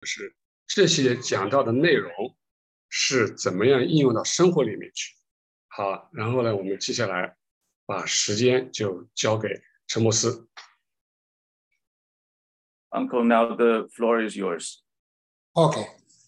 就是这些讲到的内容是怎么样应用到生活里面去。好，然后呢，我们接下来把时间就交给陈牧师。 Uncle, now the floor is yours. Okay.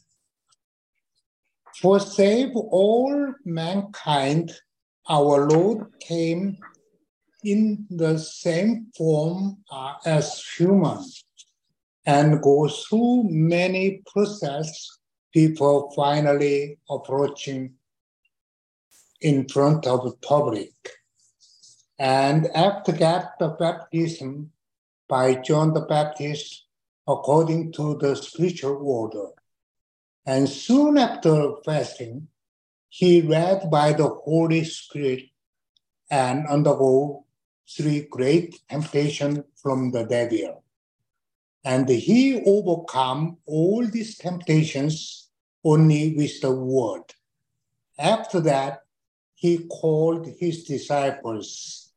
For save all mankind, our Lord came in the same form as human and go through many processes before finally approaching in front of the public. And after that, the baptism by John the Baptist according to the spiritual order. And soon after fasting, he led by the Holy Spirit and undergo 3 great temptations from the devil. And he overcome all these temptations only with the word. After that, he called his disciples.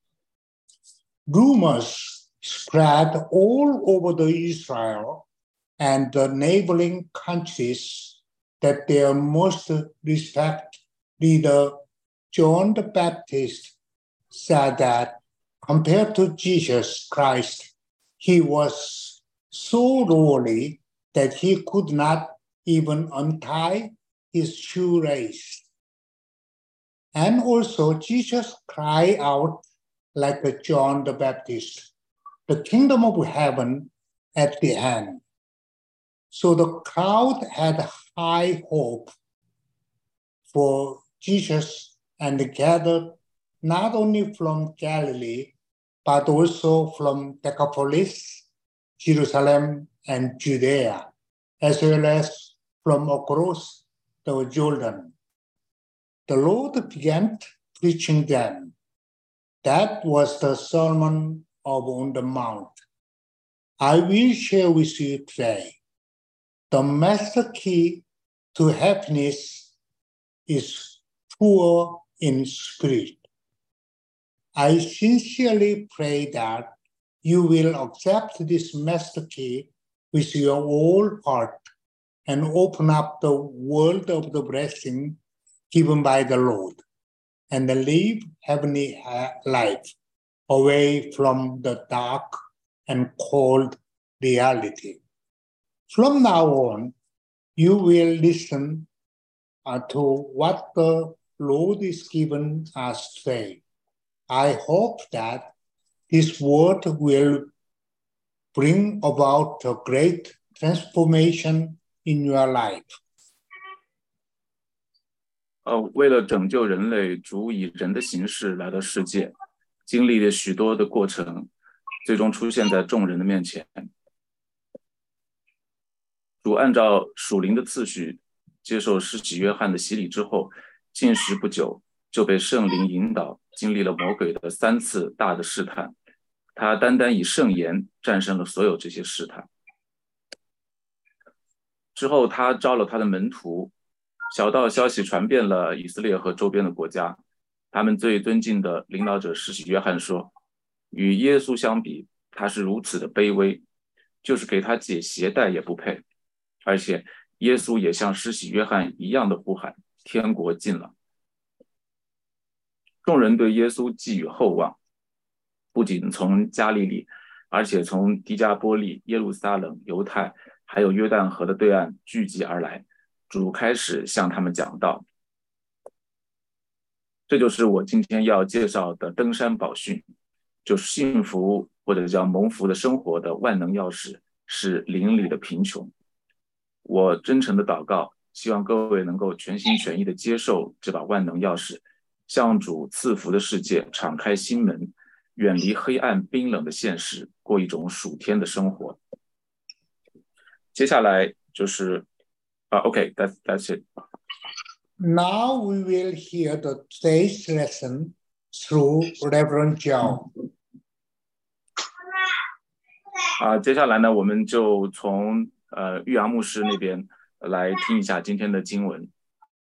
Rumors spread all over the Israel and the neighboring countries that their most respected leader, John the Baptist, said that compared to Jesus Christ, he was so lowly that he could not even untie his shoelace. And also Jesus cried out like John the Baptist, the kingdom of heaven at the hand. So the crowd had high hope for Jesus and gathered not only from Galilee, but also from Decapolis, Jerusalem, and Judea, as well as from across the Jordan. The Lord began preaching them. That was the Sermon on the Mount. I will share with you today. The master key to happiness is poor in spirit. I sincerely pray that you will accept this master key with your whole heart and open up the world of the blessing given by the Lord and live heavenly life away from the dark and cold reality. From now on, you will listen to what the Lord is giving us today. I hope that this word will bring about a great transformation in your life. 为了拯救人类，主以人的形式来到世界，经历了许多的过程，最终出现在众人的面前。主按照属灵的次序接受施洗约翰的洗礼之后，禁食不久就被圣灵引导，经历了魔鬼的3次大的试探。他单单以圣言战胜了所有这些试探。之后他招了他的门徒，小道消息传遍了以色列和周边的国家。他们最尊敬的领导者施洗约翰说，与耶稣相比，他是如此的卑微，就是给他解鞋带也不配。而且耶稣也像施洗约翰一样的呼喊，天国近了。众人对耶稣寄予厚望，不仅从加利利，而且从迪加波利、耶路撒冷、犹太还有约旦河的对岸聚集而来。主开始向他们讲道。这就是我今天要介绍的登山宝训，就是幸福或者叫蒙福的生活的万能钥匙，是邻里的贫穷。我真诚的祷告，希望各位能够全心全意的接受这把万能钥匙，向主赐福的世界敞开心门，远离黑暗冰冷的现实，过一种属天的生活。接下来就是okay, that's it. Now we will hear the today's lesson through Reverend Zhao. 接下来呢，我们就从玉阳牧师那边来听一下今天的经文。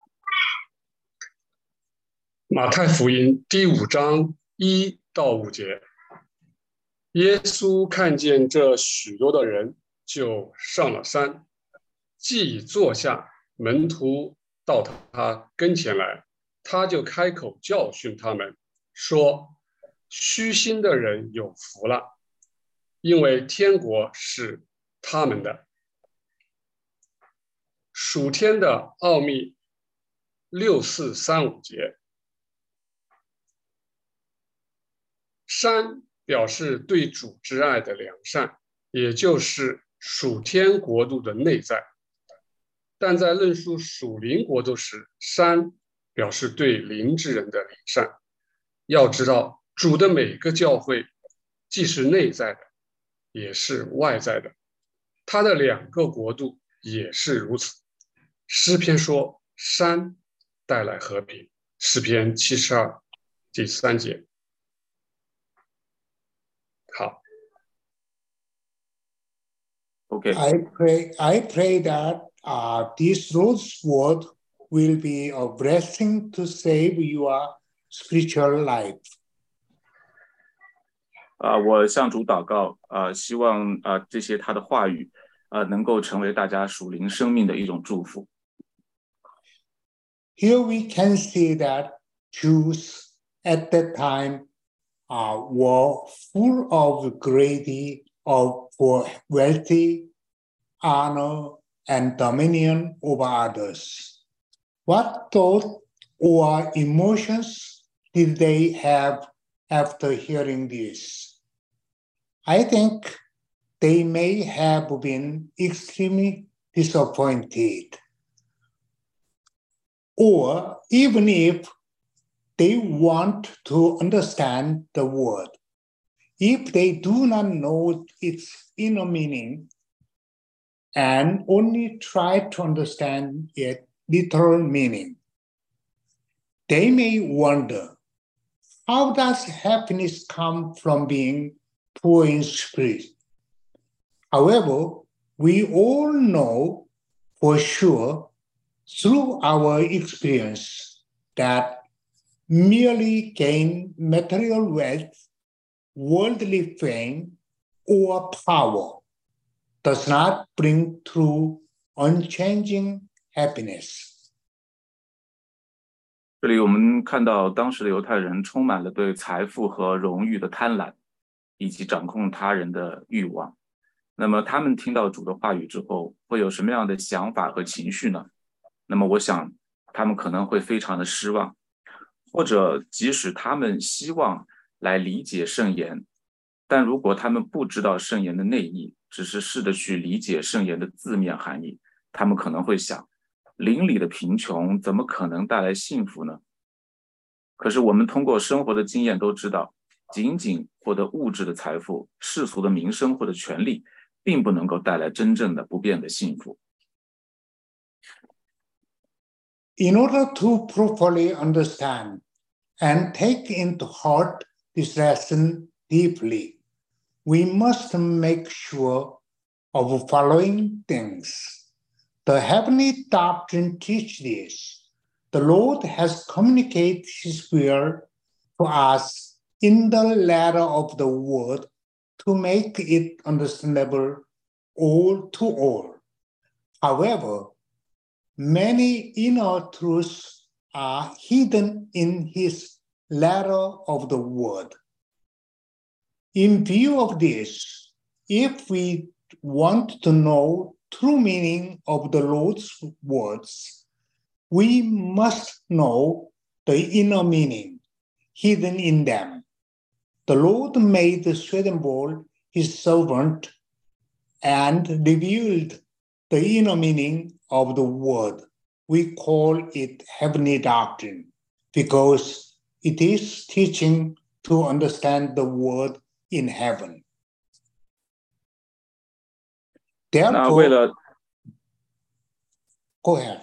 马太福音第5章1到5节。耶稣看见这许多的人，就上了山， 既已坐下，门徒到他跟前来，他就开口教训他们，说：虚心的人有福了，因为天国是他们的。属天的奥秘6435节，山表示对主之爱的良善，也就是属天国度的内在。但在论述属灵国度时，山表示对灵之人的良善。要知道，主的每个教会既是内在的，也是外在的，他的2个国度也是如此。诗篇说，山带来和平，诗篇72第3节。好 OK， I pray that this Lord's word will be a blessing to save your spiritual life. 我向主祷告，希望这些他的话语，能够成为大家属灵生命的一种祝福。 Here we can see that Jews at that time were full of greedy, of wealthy, honor, and dominion over others. What thought or emotions did they have after hearing this? I think they may have been extremely disappointed. Or even if they want to understand the word, if they do not know its inner meaning and only try to understand its literal meaning, they may wonder, how does happiness come from being poor in spirit? However, we all know for sure through our experience that merely gain material wealth, worldly fame, or power does not bring true unchanging happiness. 这里我们看到当时的犹太人充满了对财富和荣誉的贪婪，以及掌控他人的欲望。那么他们听到主的话语之后，会有什么样的想法和情绪呢？那么我想他们可能会非常的失望，或者即使他们希望来理解圣言，但如果他们不知道圣言的内意，只是试着去理解圣言的字面含义，他们可能会想，灵里的贫穷怎么可能带来幸福呢？可是我们通过生活的经验都知道，仅仅获得物质的财富、世俗的名声或者权利，并不能够带来真正的不变的幸福。 In order to properly understand and take into heart this lesson deeply, we must make sure of following things. The heavenly doctrine teaches this. The Lord has communicated His will to us in the letter of the word to make it understandable all to all. However, many inner truths are hidden in His letter of the word. In view of this, if we want to know true meaning of the Lord's words, we must know the inner meaning hidden in them. The Lord made Swedenborg His servant and revealed the inner meaning of the word. We call it heavenly doctrine because it is teaching to understand the word in heaven. 那为 Therefore, 了 go ahead.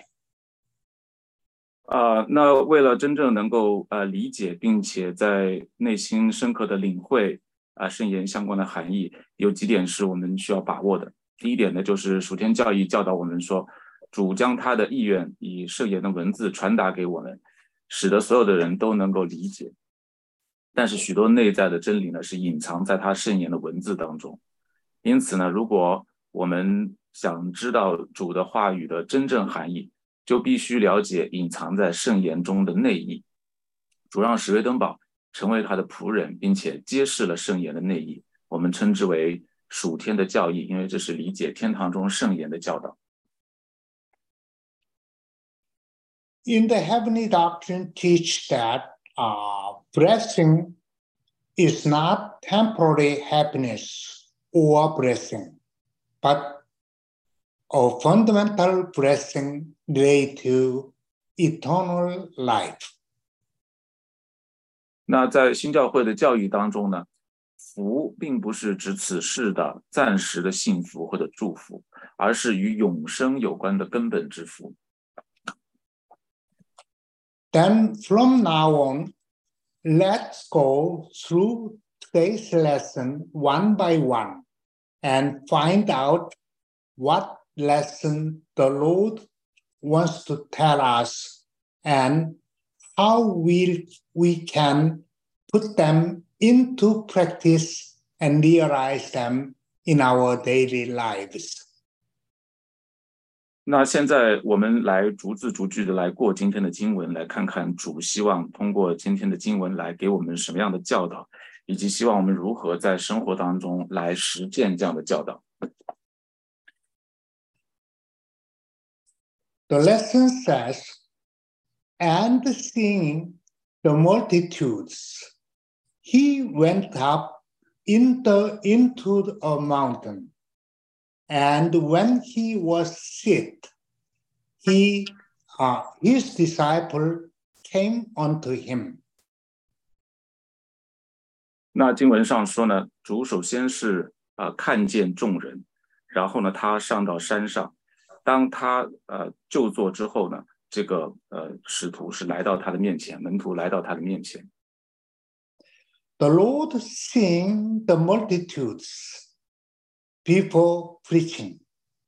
那为了真正能够理解并且在内心深刻的领会圣言相关的含义，有几点是我们需要把握的。第一点呢，就是属天教义教导我们说，主将他的意愿以圣言的文字传达给我们，使得所有的人都能够理解。但是许多内在的真理呢，是隐藏在他圣言的文字当中。因此呢，如果我们想知道主的话语的真正含义，就必须了解隐藏在圣言中的内意。主让史威登堡成为他的仆人，并且揭示了圣言的内意，我们称之为属天的教义，因为这是理解天堂中圣言的教导。 In the heavenly doctrine teach that blessing is not temporary happiness or blessing, but a fundamental blessing related to eternal life. 那在新教会的教义当中呢，福并不是指此世的暂时的幸福或者祝福，而是与永生有关的根本之福。 Then from now on, let's go through today's lesson one by one and find out what lesson the Lord wants to tell us and how we can put them into practice and realize them in our daily lives. 那现在我们来逐字逐句的来过今天的经文，来看看主希望通过今天的经文来给我们什么样的教导，以及希望我们如何在生活当中来实践这样的教导。 The lesson says, and seeing the multitudes, he went up into a mountain. And when he was sick, his disciple came unto him. 那经文上说呢，主首先是看见众人，然后呢，他上到山上。当他就坐之后呢，这个使徒是来到他的面前，门徒来到他的面前。 The Lord seeing the multitudes, people preaching.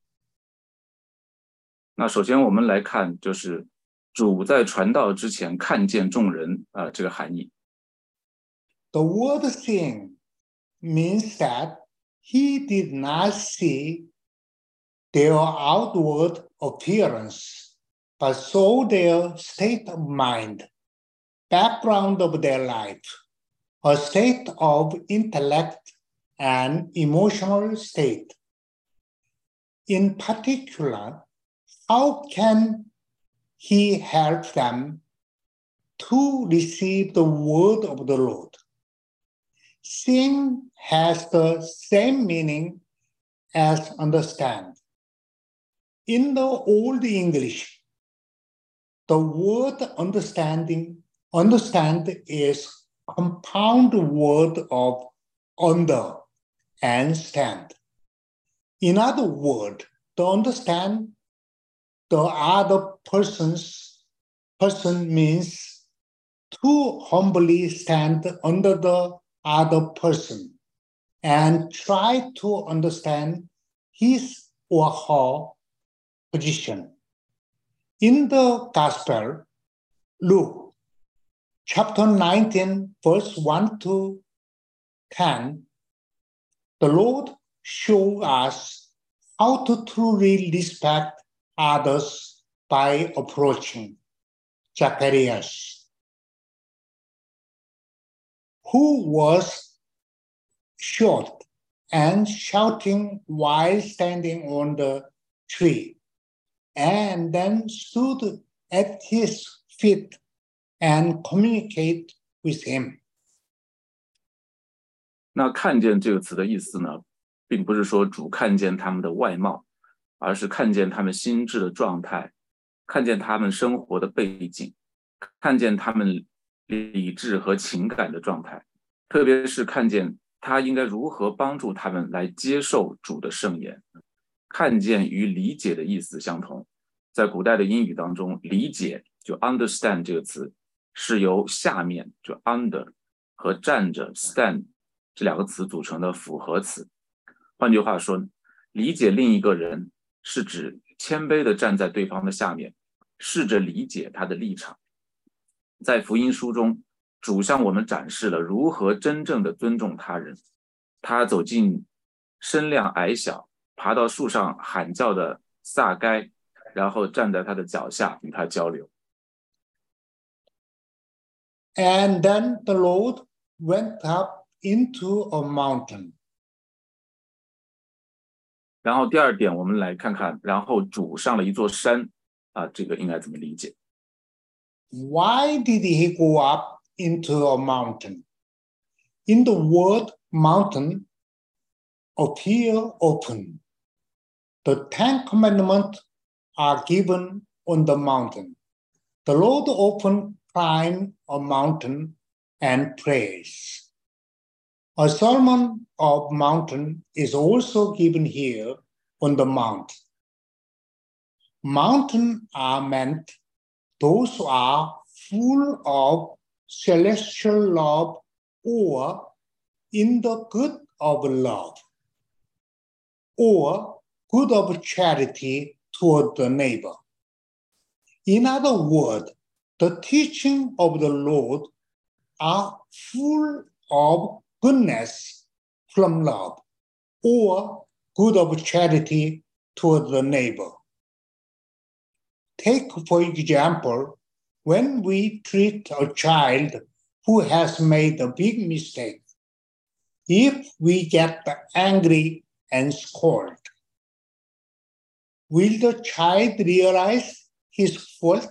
那首先我们来看，就是主在传道之前看见众人这个含义。 The word seeing means that he did not see their outward appearance, but saw their state of mind, background of their life, a state of intellect and emotional state. In particular, how can he help them to receive the word of the Lord? Seeing has the same meaning as understand. In the Old English, the word understand is compound word of under and stand. In other words, to understand the other person means to humbly stand under the other person and try to understand his or her position. In the Gospel, Luke chapter 19, verse 1 to 10, the Lord shows us how to truly respect others by approaching Zacharias, who was short and shouting while standing on the tree, and then stood at his feet and communicate with him. 那看见这个词的意思呢，并不是说主看见他们的外貌，而是看见他们心智的状态，看见他们生活的背景，看见他们理智和情感的状态，特别是看见他应该如何帮助他们来接受主的圣言。看见与理解的意思相同，在古代的英语当中，理解就 understand 这个词是由下面就 under 和站着 stand 这两个词组成的复合词。换句话说，理解另一个人是指谦卑地站在对方的下面，试着理解他的立场。在福音书中，主向我们展示了如何真正的尊重他人。他走进身量矮小爬到树上喊叫的撒该，然后站在他的脚下与他交流。 And then the Lord went up into a mountain. 然后第二点，我们来看看，然后主上了一座山这个应该怎么理解？ Why did he go up into a mountain? In the word mountain appear open. The 10 commandments are given on the mountain. The Lord often climbed a mountain and prays. A sermon of mountain is also given here on the mount. Mountains are meant those who are full of celestial love or in the good of love or good of charity toward the neighbor. In other words, the teaching of the Lord are full of goodness from love or good of charity toward the neighbor. Take, for example, when we treat a child who has made a big mistake. If we get angry and scold, will the child realize his fault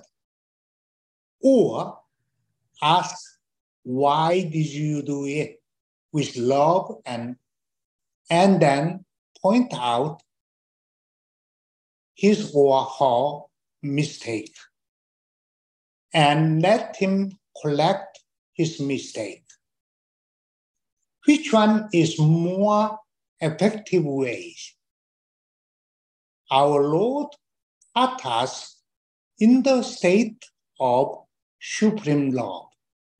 or ask, why did you do it with love and then point out his or her mistake and let him correct his mistake? Which one is more effective way? Our Lord taught us in the state of supreme love.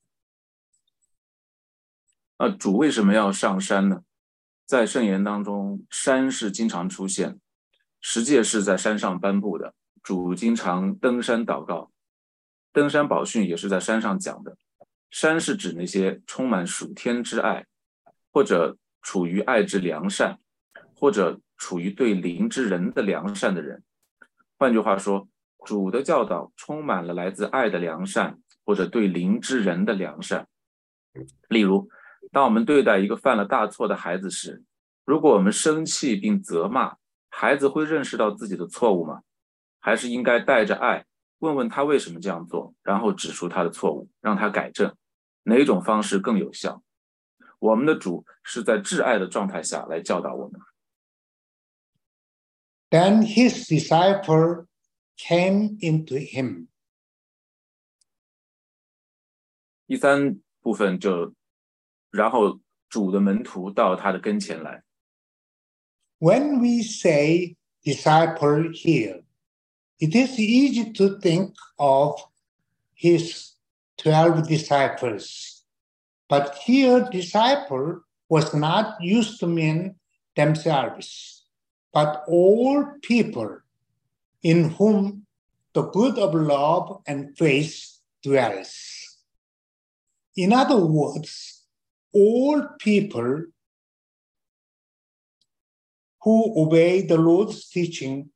主为什么要上山呢？在圣言当中，山是经常出现，十诫是在山上颁布的，主经常登山祷告，登山宝训也是在山上讲的。山是指那些充满属天之爱，或者处于爱之良善，或者处于对灵之人的良善的人。换句话说，主的教导充满了来自爱的良善，或者对灵之人的良善。例如，当我们对待一个犯了大错的孩子时，如果我们生气并责骂，孩子会认识到自己的错误吗？还是应该带着爱，问问他为什么这样做，然后指出他的错误，让他改正？哪种方式更有效？我们的主是在挚爱的状态下来教导我们。 Then his disciple came into him. 第三部分然后主的门徒到他的跟前来。 When we say disciple here, it is easy to think of his 12 disciples. But here, disciple was not used to mean themselves, but all people in whom the good of love and faith dwells. In other words, all people who obey the Lord's teaching.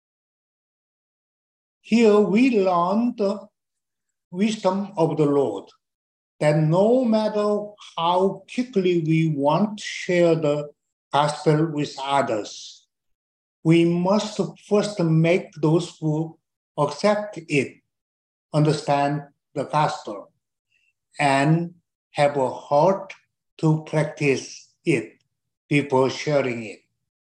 Here we learn the wisdom of the Lord, that no matter how quickly we want to share the gospel with others, we must first make those who accept it understand the gospel and have a heart to practice it before sharing it.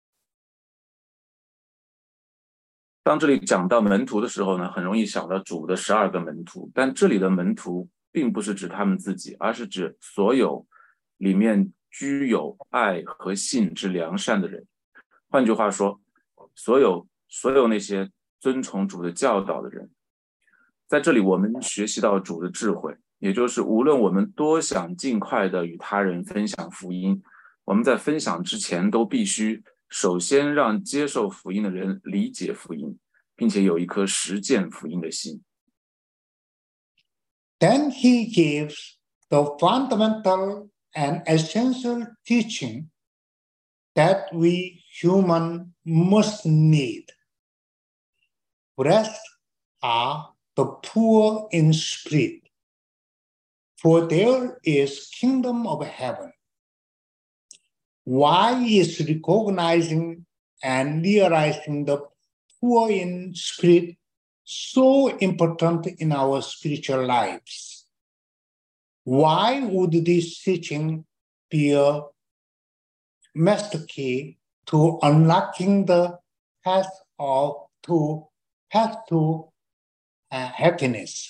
当这里讲到门徒的时候呢，很容易想到主的12个门徒，但这里的门徒并不是指他们自己，而是指所有里面具有爱和信之良善的人。换句话说，所有那些遵从主的教导的人。在这里我们学习到主的智慧，也就是无论我们多想尽快的与他人分享福音，我们在分享之前都必须首先让接受福音的人理解福音，并且有一颗实践福音的心。 Then he gives the fundamental and essential teaching that we human must need. Blessed are the poor in spirit, for there is kingdom of heaven. Why is recognizing and realizing the poor in spirit so important in our spiritual lives? Why would this teaching be a master key to unlocking the path to happiness?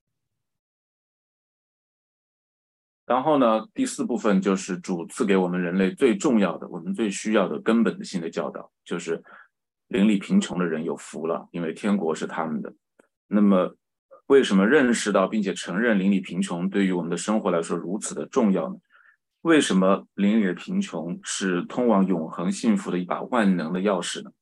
然后呢，第4部分就是主赐给我们人类最重要的、我们最需要的根本性的教导，就是邻里贫穷的人有福了，因为天国是他们的。那么，为什么认识到并且承认邻里贫穷对于我们的生活来说如此的重要呢？为什么邻里的贫穷是通往永恒幸福的一把万能的钥匙呢？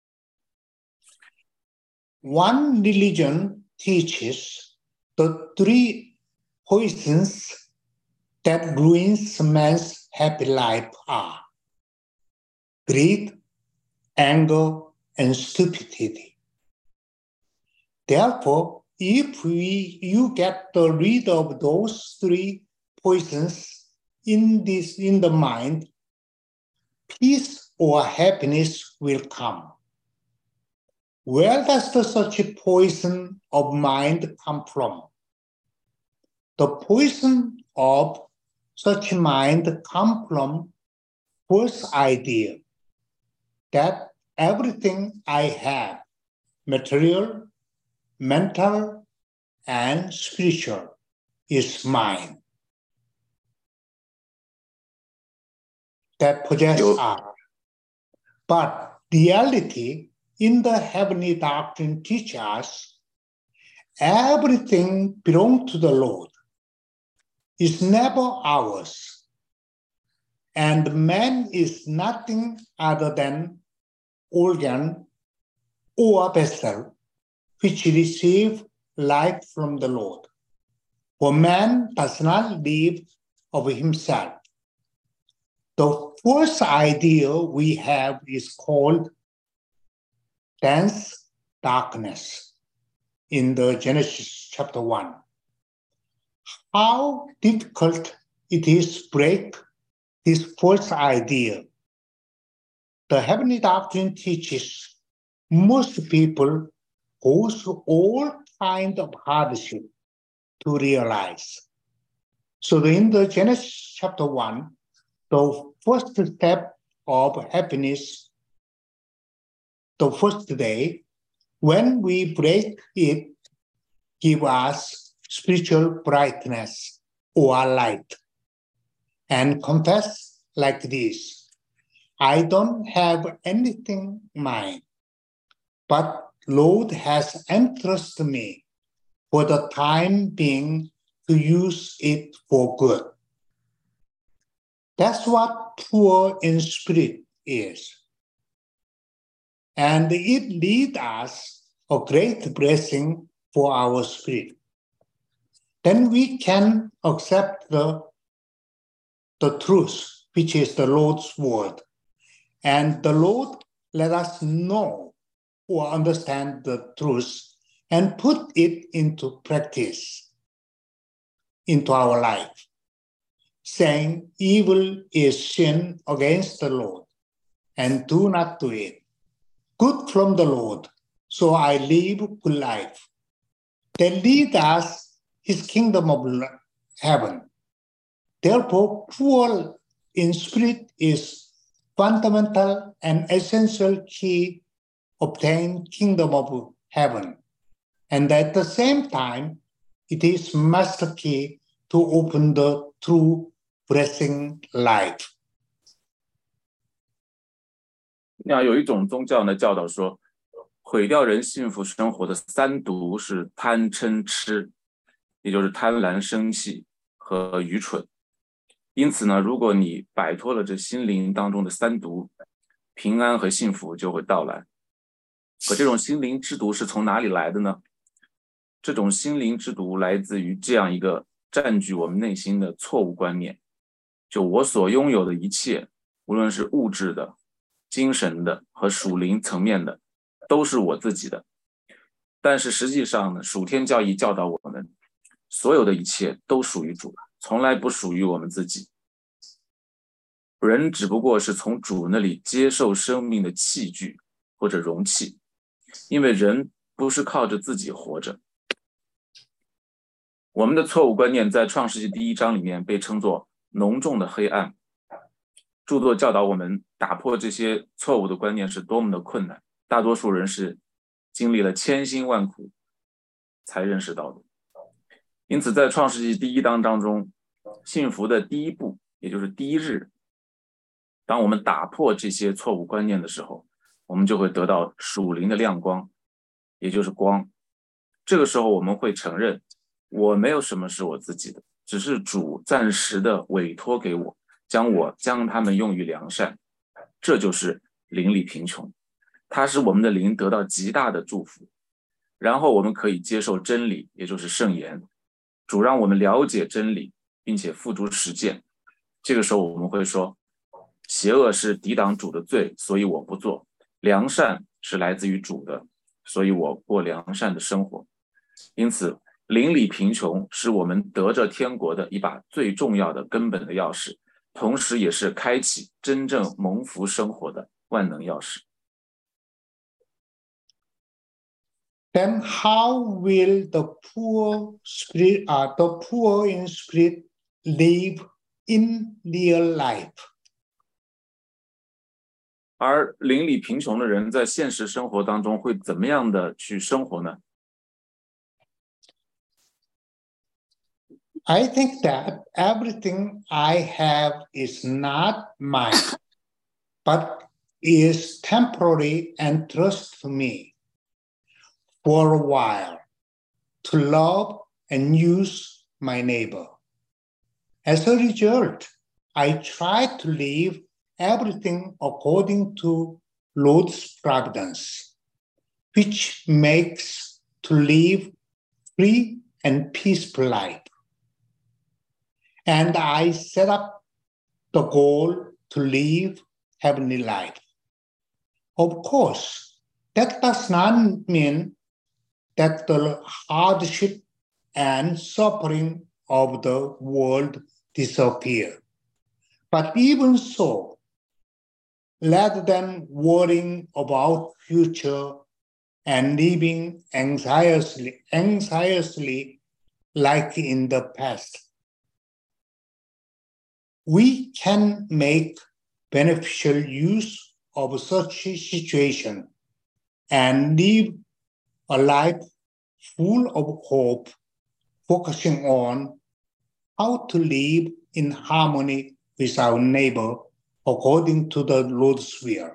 One religion teaches the 3 poisons that ruins man's happy life are greed, anger, and stupidity. Therefore, if you get rid of those 3 poisons in the mind, peace or happiness will come. Where does such a poison of mind come from? The poison of such mind come from false idea that everything I have, material, mental, and spiritual, is mine. That possess us. But reality in the heavenly doctrine teaches us everything belongs to the Lord. Is never ours. And man is nothing other than organ or vessel which receive life from the Lord. For man does not live of himself. The first idea we have is called dense darkness in the Genesis chapter 1. How difficult it is to break this false idea. The heavenly doctrine teaches most people go through all kinds of hardship to realize. So in the Genesis chapter 1, the first step of happiness, the first day, when we break it, give us spiritual brightness or light, and confess like this: I don't have anything mine, but Lord has entrusted me for the time being to use it for good. That's what poor in spirit is. And it leads us a great blessing for our spirit. Then we can accept the truth, which is the Lord's word. And the Lord let us know or understand the truth and put it into practice, into our life, saying evil is sin against the Lord, and do not do it. Good from the Lord, so I live good life. They lead us his kingdom of heaven. Therefore, poor in spirit is fundamental and essential key obtain kingdom of heaven. And at the same time, it is master key to open the true blessing life. 那有一种宗教呢，教导说，毁掉人幸福生活的3毒是贪嗔痴，也就是贪婪、生气和愚蠢。因此呢，如果你摆脱了这心灵当中的3毒，平安和幸福就会到来。可这种心灵之毒是从哪里来的呢？这种心灵之毒来自于这样一个占据我们内心的错误观念，就我所拥有的一切无论是物质的、精神的和属灵层面的，都是我自己的。但是实际上呢，属天教义教导我们，所有的一切都属于主，从来不属于我们自己。人只不过是从主那里接受生命的器具或者容器，因为人不是靠着自己活着。我们的错误观念在创世纪第1章里面被称作浓重的黑暗。著作教导我们打破这些错误的观念是多么的困难，大多数人是经历了千辛万苦才认识到的。因此在创世纪第1章当中，幸福的第一步，也就是第一日，当我们打破这些错误观念的时候，我们就会得到属灵的亮光，也就是光。这个时候我们会承认，我没有什么是我自己的，只是主暂时的委托给我，将他们用于良善。这就是灵里贫穷，它使我们的灵得到极大的祝福。然后我们可以接受真理，也就是圣言。主让我们了解真理，并且付诸实践。这个时候我们会说，邪恶是抵挡主的罪，所以我不做；良善是来自于主的，所以我过良善的生活。因此灵里贫穷是我们得着天国的一把最重要的根本的钥匙，同时也是开启真正蒙福生活的万能钥匙。 Then how will the poor in spirit live in real life? 而灵里贫穷的人在现实生活当中会怎么样的去生活呢？ I think that everything I have is not mine, but is temporary and trust to me for a while to love and use my neighbor. As a result, I try to live everything according to Lord's providence, which makes to live free and peaceful life. And I set up the goal to live heavenly life. Of course, that does not mean that the hardship and suffering of the world disappear. But even so, rather than worrying about future and living anxiously like in the past, we can make beneficial use of such a situation and live a life full of hope, focusing on how to live in harmony with our neighbor according to the Lord's will.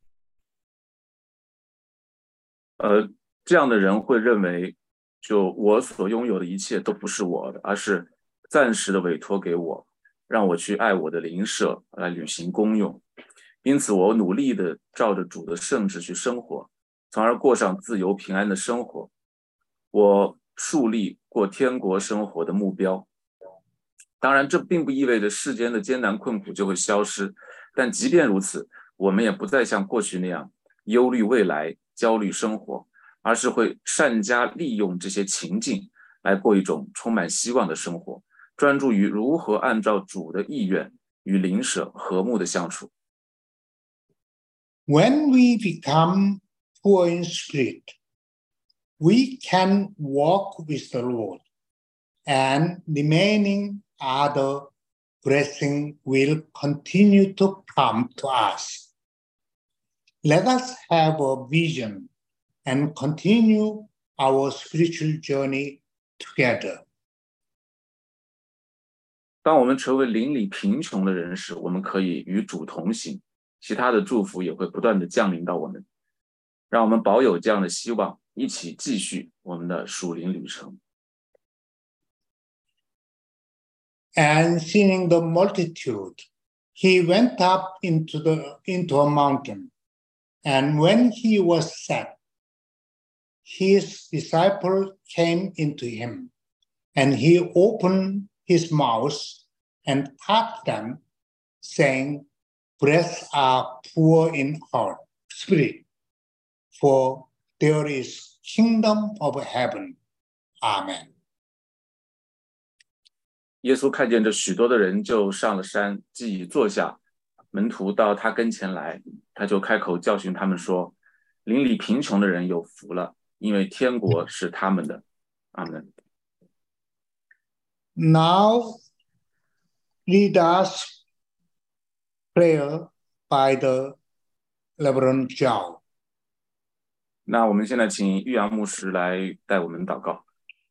这样的人会认为，就我所拥有的一切都不是我的，而是暂时的委托给我，让我去爱我的邻舍，来履行功用。因此我努力的照着主的圣旨去生活，从而过上自由平安的生活。我树立过天国生活的目标。当然这并不意味着世间的艰难困苦就会消失，但即便如此，我们也不再像过去那样忧虑未来、焦虑生活，而是会善加利用这些情境来过一种充满希望的生活，专注于如何按照主的意愿与邻舍和睦的相处。 When we become poor in spirit, we can walk with the Lord, and remaining other blessing will continue to come to us. Let us have a vision and continue our spiritual journey together. 当我们成为灵里贫穷的人时，我们可以与主同行，其他的祝福也会不断的降临到我们。让我们保有这样的希望，一起继续我们的属灵旅程。 And seeing the multitude, he went up into a mountain. And when he was set, his disciples came into him, and he opened his mouth and taught them, saying, Blessed are poor in heart, spirit, for there is kingdom of heaven. Amen. 耶稣看见这许多的人，就上了山，既已坐下，门徒到他跟前来，他就开口教训他们说：邻里贫穷的人有福了，因为天国是他们的。阿门。 Now lead us prayer by the Reverend Zhao. 那我们现在请玉阳牧师来带我们祷告。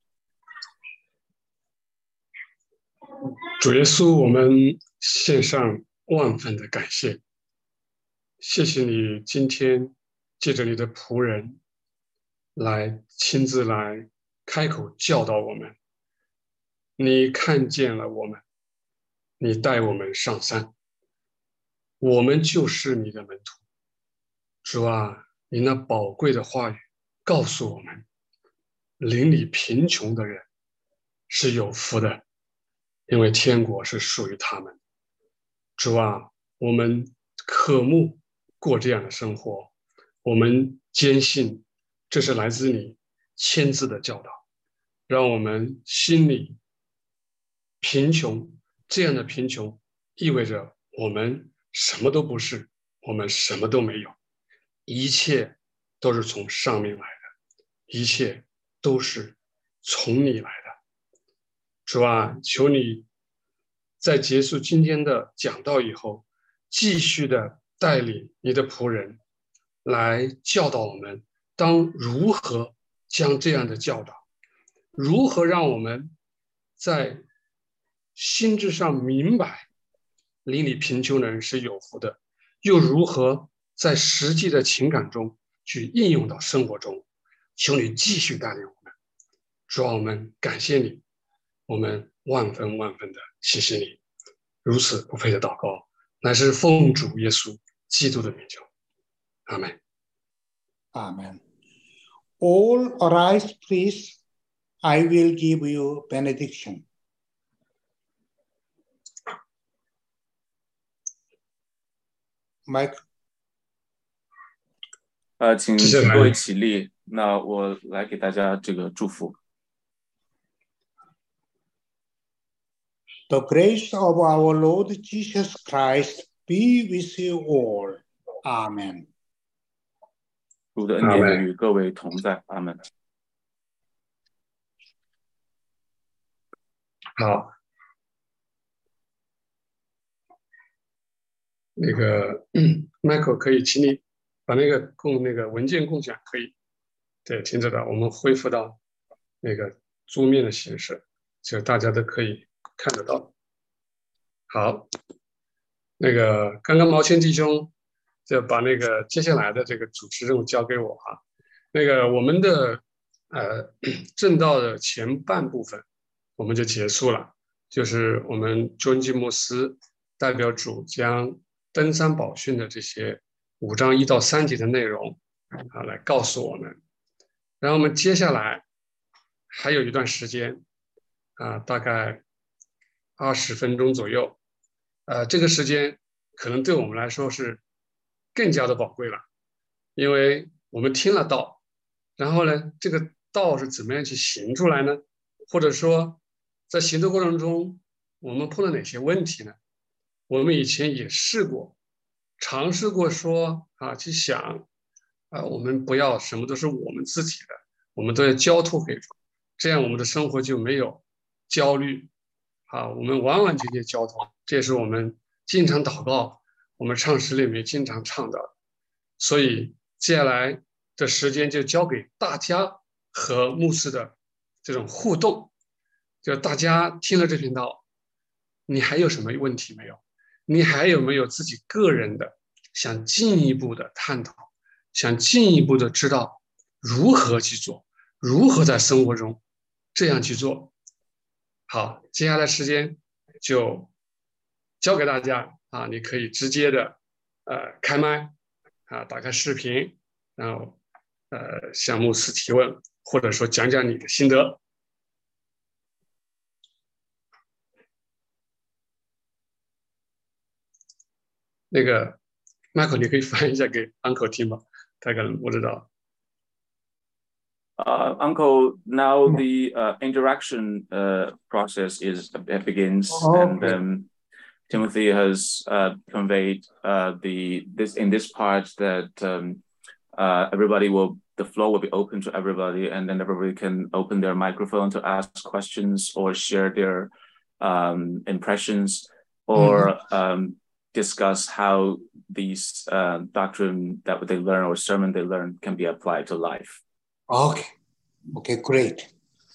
主耶稣，我们献上万分的感谢，谢谢你今天借着你的仆人来亲自来开口教导我们，你看见了我们，你带我们上山，我们就是你的门徒。主啊，你那宝贵的话语告诉我们，邻里贫穷的人是有福的，因为天国是属于他们。主啊，我们渴慕过这样的生活，我们坚信这是来自你亲自的教导，让我们心里贫穷，这样的贫穷意味着我们什么都不是，我们什么都没有，一切都是从上面来的，一切都是从你来的。主啊，求你在结束今天的讲道以后，继续的带领你的仆人来教导我们，当如何将这样的教导，如何让我们在心智上明白邻里贫穷的人是有福的，又如何在实际的情感中去应用到生活中。求你继续带领我们。主啊，我们感谢你，我们万分万分的谢谢你。如此不配的祷告，乃是奉主耶稣基督的名求。阿们。 Amen. All arise, please. I will give you benediction. Mike. 请各位起立，那我来给大家这个祝福。 The grace of our Lord Jesus Christ be with you all. Amen. 主的恩典与各位同在。阿们。 好，那个Michael 可以，请你把那个文件共享可以，对，停止的，我们恢复到那个桌面的形式，就大家都可以看得到。好，那个刚刚毛谦弟兄就把那个接下来的这个主持任务交给我哈。那个我们的正道的前半部分我们就结束了，就是我们尊基牧师代表主将登山宝训的这些5章1到3节的内容啊来告诉我们，然后我们接下来还有一段时间啊，大概20分钟左右，这个时间可能对我们来说是更加的宝贵了，因为我们听了道，然后呢，这个道是怎么样去行出来呢？或者说，在行的过程中，我们碰到哪些问题呢？我们以前也尝试过说啊，去想啊，我们不要什么都是我们自己的，我们都要交托给主，这样我们的生活就没有焦虑啊，我们完完全全交托，这也是我们经常祷告，我们唱诗里面经常唱的。所以接下来的时间就交给大家和牧师的这种互动，就大家听了这频道，你还有什么问题没有？你还有没有自己个人的想进一步的探讨，想进一步的知道如何去做，如何在生活中这样去做？好，接下来时间就交给大家啊，你可以直接的开麦啊，打开视频，然后向牧师提问，或者说讲讲你的心得。 那个 Michael，你可以翻译一下给 Uncle 听吗？他可能不知道。 Uncle, now the interaction process begins, Okay. and Timothy has conveyed in this part that the floor will be open to everybody, and then everybody can open their microphone to ask questions or share their impressions or discuss how these doctrine that they learn or sermon they learn can be applied to life. Okay, great.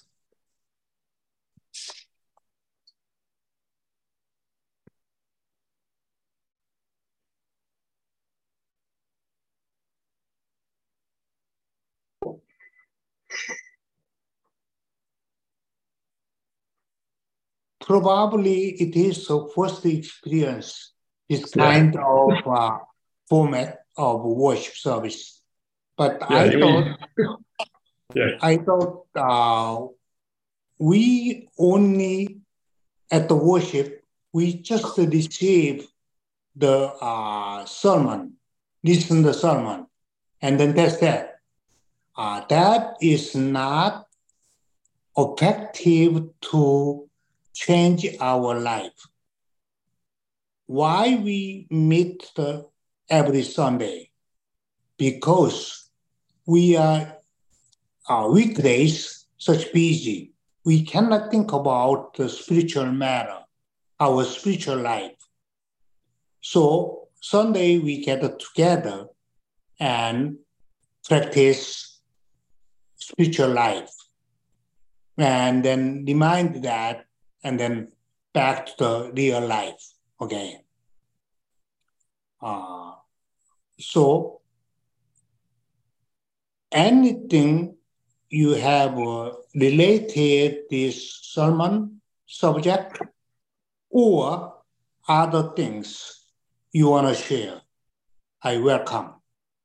Probably it is the first experience, this kind of format of worship service. But I thought we only at the worship, we just receive the sermon, listen to the sermon, and then that's that. That is not effective to change our life. Why we meet every Sunday? Because we are weekdays such busy. We cannot think about the spiritual matter, our spiritual life. So Sunday we get together and practice spiritual life, and then remind that, and then back to the real life. Okay. So anything you have related this sermon subject or other things you want to share, I welcome.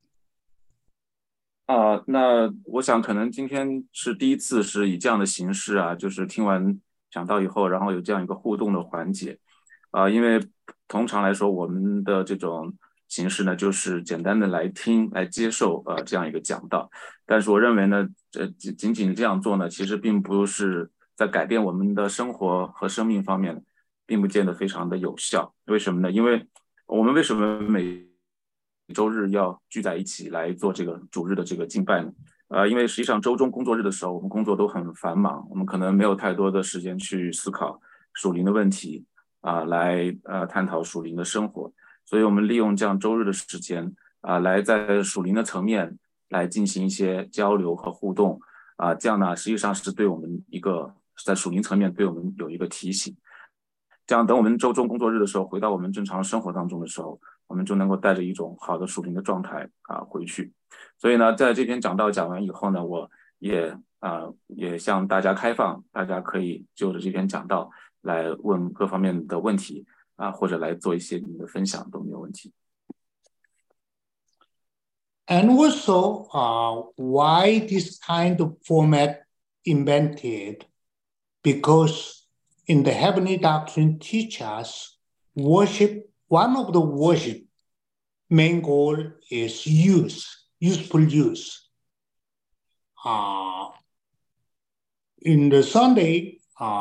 那我想可能今天是第一次是以这样的形式啊，就是听完讲道以后，然后有这样一个互动的环节因为通常来说我们的这种形式呢，就是简单的来听来接受这样一个讲道，但是我认为呢，仅仅这样做呢，其实并不是在改变我们的生活和生命方面，并不见得非常的有效。为什么呢？因为我们为什么每周日要聚在一起来做这个主日的这个敬拜呢？因为实际上周中工作日的时候，我们工作都很繁忙，我们可能没有太多的时间去思考属灵的问题来探讨属灵的生活，所以我们利用这样周日的时间来在属灵的层面来进行一些交流和互动这样呢，实际上是对我们一个在属灵层面对我们有一个提醒。这样等我们周中工作日的时候，回到我们正常生活当中的时候，我们就能够带着一种好的属灵的状态回去。所以呢，在这篇讲道讲完以后呢，我也向大家开放，大家可以就着这篇讲道来问各方面的问题或者来做一些你的分享都没有问题。 And also, why this kind of format invented? Because in the Heavenly Doctrine teach us worship, one of the worship main goal is useful use. In the Sunday,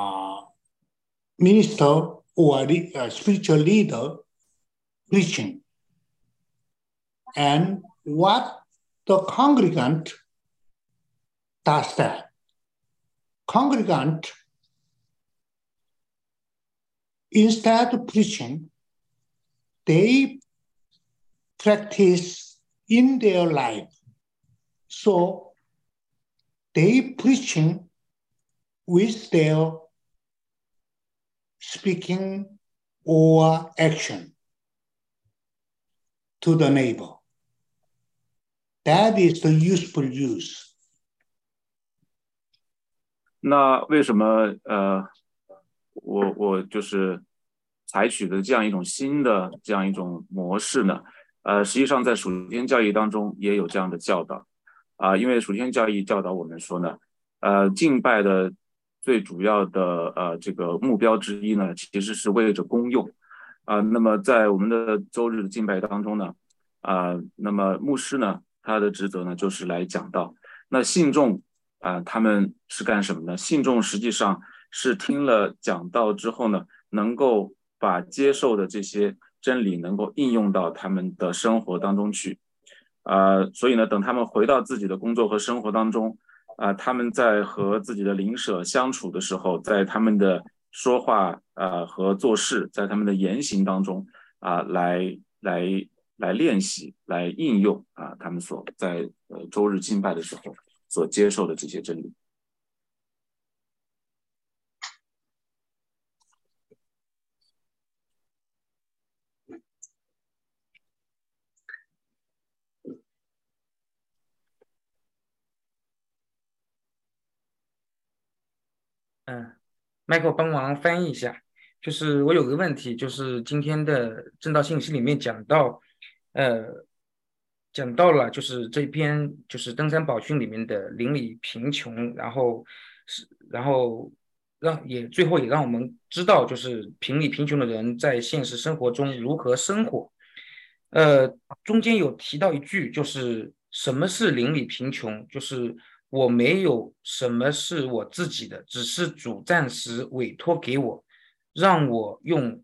minister or spiritual leader preaching. And what the congregant does that? Congregant, instead of preaching, they practice in their life. So they preaching with their speaking or action to the neighbor. That is the useful use. 那为什么我就是采取的这样一种新的这样一种模式呢？实际上在属天教义当中也有这样的教导因为属天教义教导我们说呢，敬拜的最主要的这个目标之一呢，其实是为着公用那么在我们的周日的敬拜当中呢，那么牧师呢，他的职责呢就是来讲道。那信众他们是干什么呢？信众实际上是听了讲道之后呢，能够把接受的这些真理能够应用到他们的生活当中去。所以呢，等他们回到自己的工作和生活当中，他们在和自己的邻舍相处的时候，在他们的说话和做事，在他们的言行当中来练习，来应用他们所在周日敬拜的时候所接受的这些真理。 Michael 帮忙翻译一下，就是我有个问题，就是今天的正道信息里面讲到了，就是这篇就是登山宝训里面的邻里贫穷，然后最后也让我们知道，就是邻里贫穷的人在现实生活中如何生活。中间有提到一句，就是什么是邻里贫穷，就是我没有什么是我自己的，只是主暂时委托给我，让我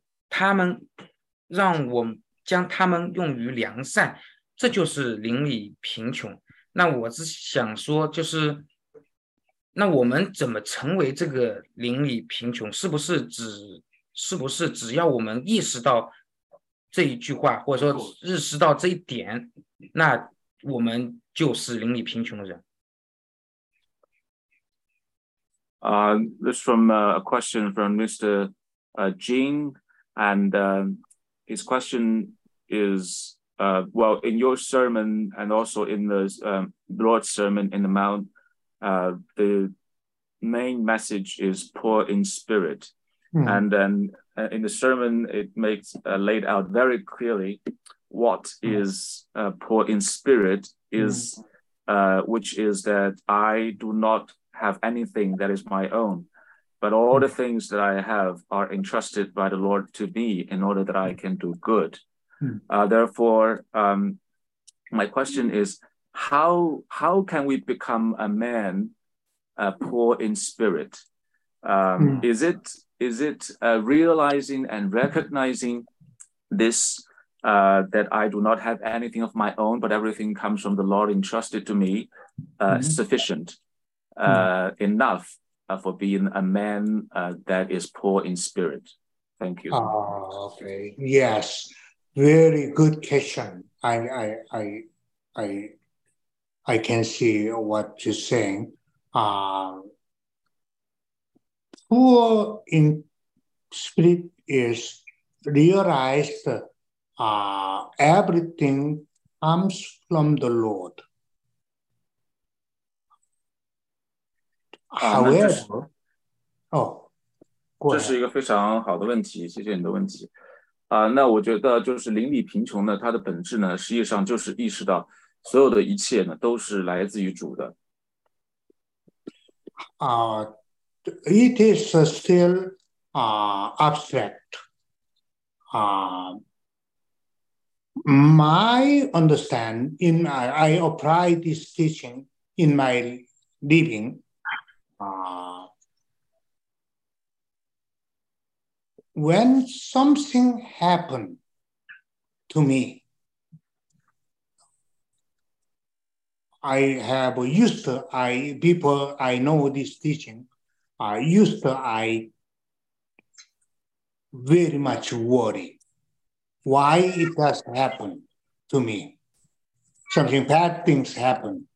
将他们用于良善，这就是邻里贫穷。那我是想说，就是那我们怎么成为这个邻里贫穷？是不是只要我们意识到这一句话，或者说认识到这一点，那我们就是邻里贫穷的人 ？This from a question from Mr. Jing, and his question is, well, in your sermon and also in the Lord's Sermon in the Mount, the main message is poor in spirit. And then in the sermon, it makes laid out very clearly what is poor in spirit is, which is that I do not have anything that is my own, but all the things that I have are entrusted by the Lord to me in order that I can do good. Therefore, my question is, how can we become a man poor in spirit? Is it realizing and recognizing this, that I do not have anything of my own, but everything comes from the Lord entrusted to me, sufficient, enough for being a man that is poor in spirit? Thank you. Okay. Yes, very good question. I can see what you're saying. Poor in spirit is realized everything comes from the Lord. However, 这是一个非常好的问题，谢谢你的问题。那我觉得就是邻里贫穷呢，它的本质呢，实际上就是意识到所有的一切呢，都是来自于主的。 It is still abstract. My understanding, I apply this teaching in my living. When something happened to me, before I know this teaching, I very much worry why it has happened to me. Something bad things happen.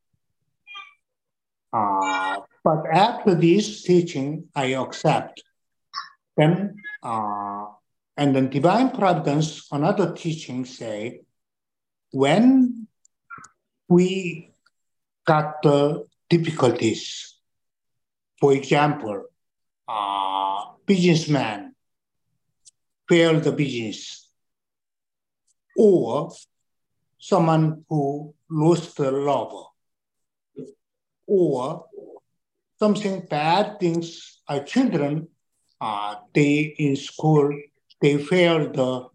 But after this teaching, I accept. Then, and then divine providence, another teaching say, when we got the difficulties, for example, businessman failed the business, or someone who lost the lover, or something bad things, our children, they in school they failed the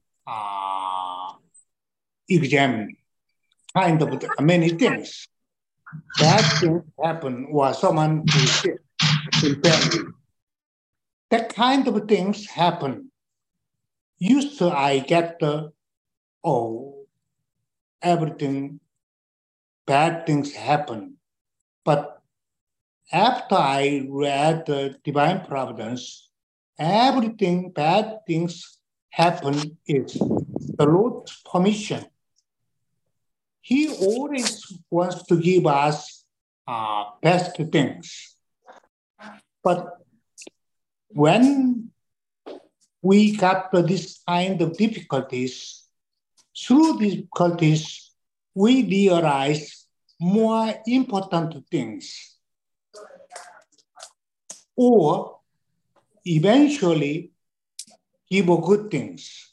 exam, kind of many things. Bad things happen, or someone who's sick in family. That kind of things happen. Used to I get everything, bad things happen. But after I read the Divine Providence, everything bad things happen is the Lord's permission. He always wants to give us best things. But when we got this kind of difficulties, through difficulties, we realize more important things. Or eventually give good things.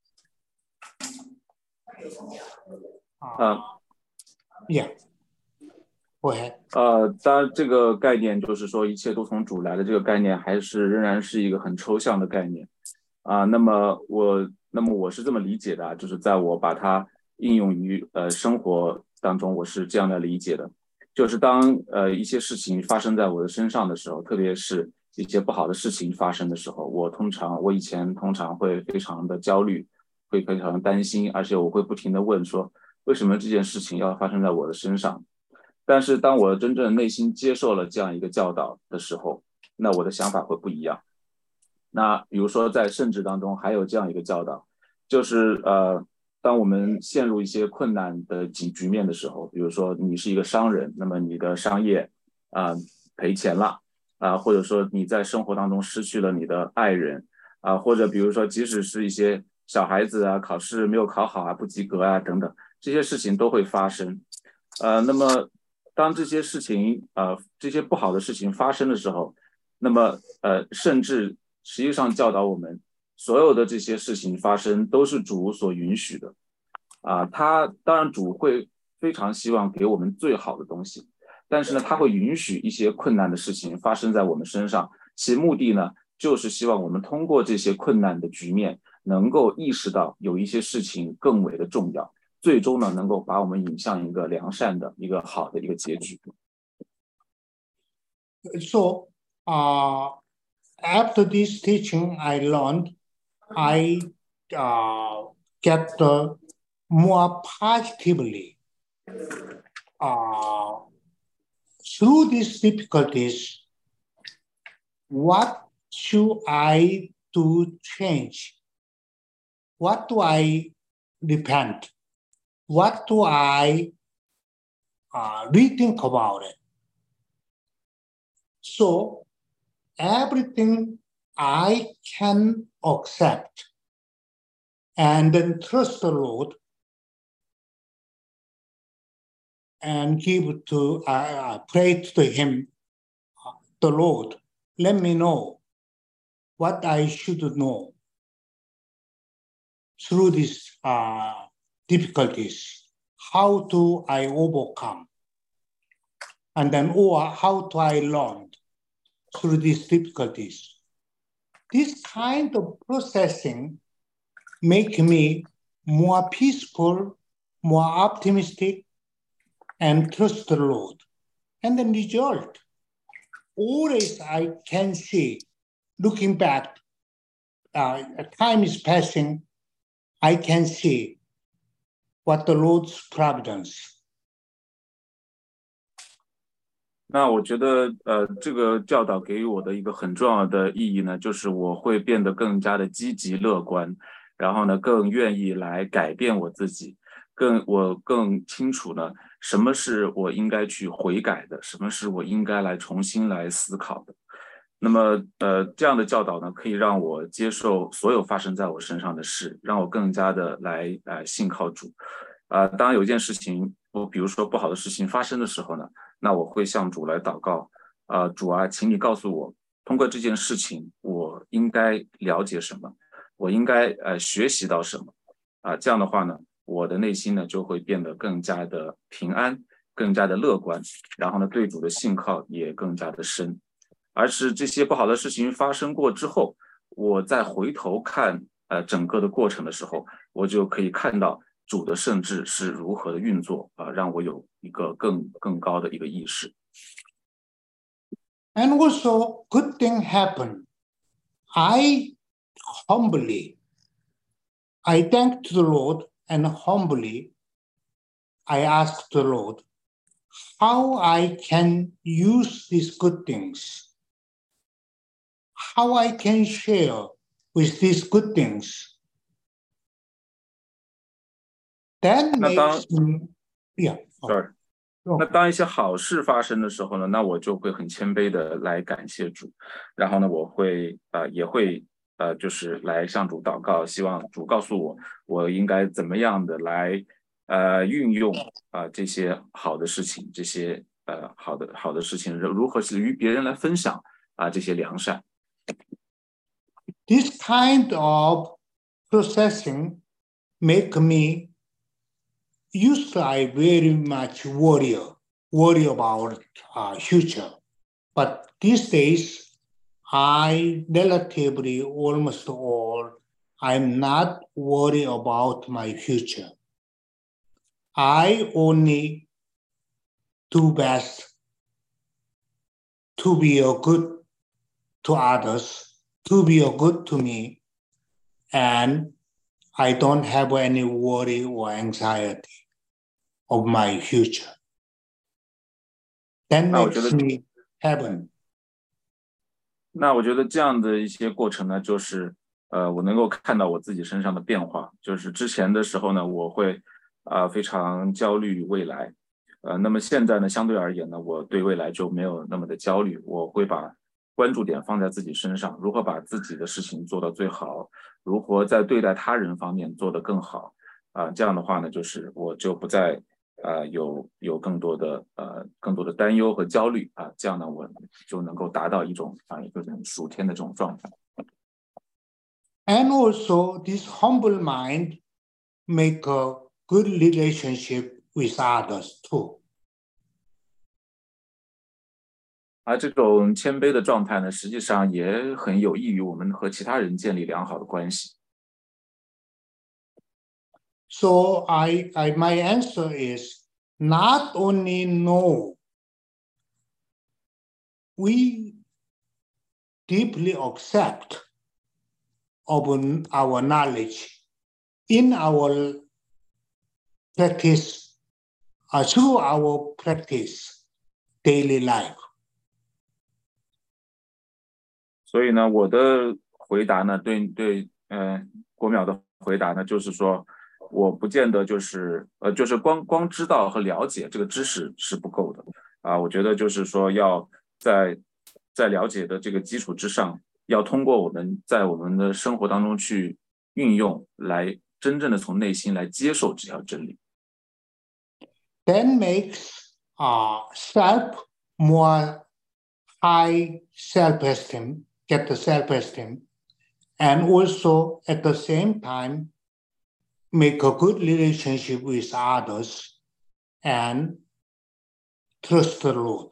Yeah, go ahead. 当然这个概念就是说一切都从主来的这个概念仍然是一个很抽象的概念那么我是这么理解的就是在我把它应用于生活当中，我是这样的理解的，就是当一些事情发生在我的身上的时候，特别是一些不好的事情发生的时候，我以前通常会非常的焦虑，会非常担心，而且我会不停的问说为什么这件事情要发生在我的身上。但是当我真正内心接受了这样一个教导的时候，那我的想法会不一样。那比如说在圣旨当中还有这样一个教导，就是当我们陷入一些困难的局面的时候，比如说你是一个商人，那么你的商业赔钱了或者说你在生活当中失去了你的爱人或者比如说即使是一些小孩子考试没有考好不及格等等，这些事情都会发生那么当这些事情这些不好的事情发生的时候，那么甚至实际上教导我们所有的这些事情发生都是主所允许的他当然主会非常希望给我们最好的东西，但是呢他会允许一些困难的事情发生在我们身上，其目的呢就是希望我们通过这些困难的局面能够意识到有一些事情更为的重要，最终呢能够把我们引向一个良善的一个好的一个结局。 So after this teaching I learned, I get more positively through these difficulties. What should I do change? What do I repent? What do I rethink about it? So everything I can accept and then trust the Lord and pray to Him, the Lord, let me know what I should know through these difficulties. How do I overcome? And then, or how do I learn through these difficulties? This kind of processing make me more peaceful, more optimistic, and trust the Lord. And the result, always I can see, looking back, time is passing, I can see what the Lord's providence. 那我觉得这个教导给予我的一个很重要的意义呢，就是我会变得更加的积极乐观，然后呢更愿意来改变我自己，我更清楚呢什么是我应该去悔改的，什么是我应该来重新来思考的。那么这样的教导呢可以让我接受所有发生在我身上的事，让我更加的来信靠主当有一件事情比如说不好的事情发生的时候呢，那我会向主来祷告主请你告诉我通过这件事情我应该了解什么，我应该学习到什么这样的话呢我的内心呢就会变得更加的平安，更加的乐观，然后呢对主的信靠也更加的深。而是这些不好的事情发生过之后，我再回头看整个的过程的时候，我就可以看到主的圣智是如何的运作让我有一个更高的一个意识。 And also, good thing happened. I thanked the Lord and humbly I asked the Lord how I can use these good things, how I can share with these good things. That makes me, yeah. Sorry. 那当一些好事发生的时候呢，那我就会很谦卑的来感谢主，然后呢，我会也会就是来向主祷告，希望主告诉我我应该怎么样的来运用这些好的事情，这些好的事情，如何是与别人来分享这些良善。 This kind of processing make me used to I very much worry about future, but these days I relatively almost all I'm not worried about my future. I only do best to be a good to others, to be a good to me, and I don't have any worry or anxiety of my future. That makes me heaven. 那我觉得这样的一些过程呢，就是我能够看到我自己身上的变化。就是之前的时候呢，我会非常焦虑未来，那么现在呢，相对而言呢，我对未来就没有那么的焦虑，我会把关注点放在自己身上，如何把自己的事情做到最好，如何在对待他人方面做得更好这样的话呢，就是我就不再有更多的担忧和焦虑这样呢，我就能够达到一种属天的这种状态。 And also, this humble mind make a good relationship with others too. 而这种谦卑的状态呢，实际上也很有益于我们和其他人建立良好的关系。 So my answer is not only know, we deeply accept of our knowledge in our practice, through our practice daily life. 所以呢，我的回答呢，对国淼的回答呢，就是说，我不见得就是光知道和了解这个知识是不够的我觉得就是说要在了解的这个基础之上，要通过我们在我们的生活当中去运用，来真正的从内心来接受这条真理。 That makes self more high self-esteem, get the self-esteem, and also at the same time make a good relationship with others and trust the Lord.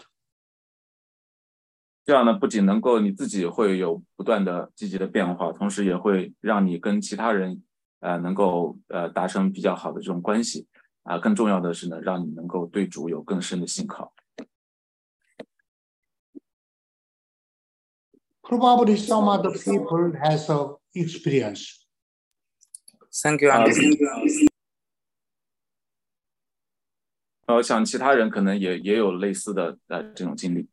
这样呢，不仅能够你自己会有不断的积极的变化，同时也会让你跟其他人能够达成比较好的这种关系更重要的是呢，让你能够对主有更深的信靠。 Probably some other people has a experience. Thank you, Andrew. 我想其他人可能也有类似的这种经历。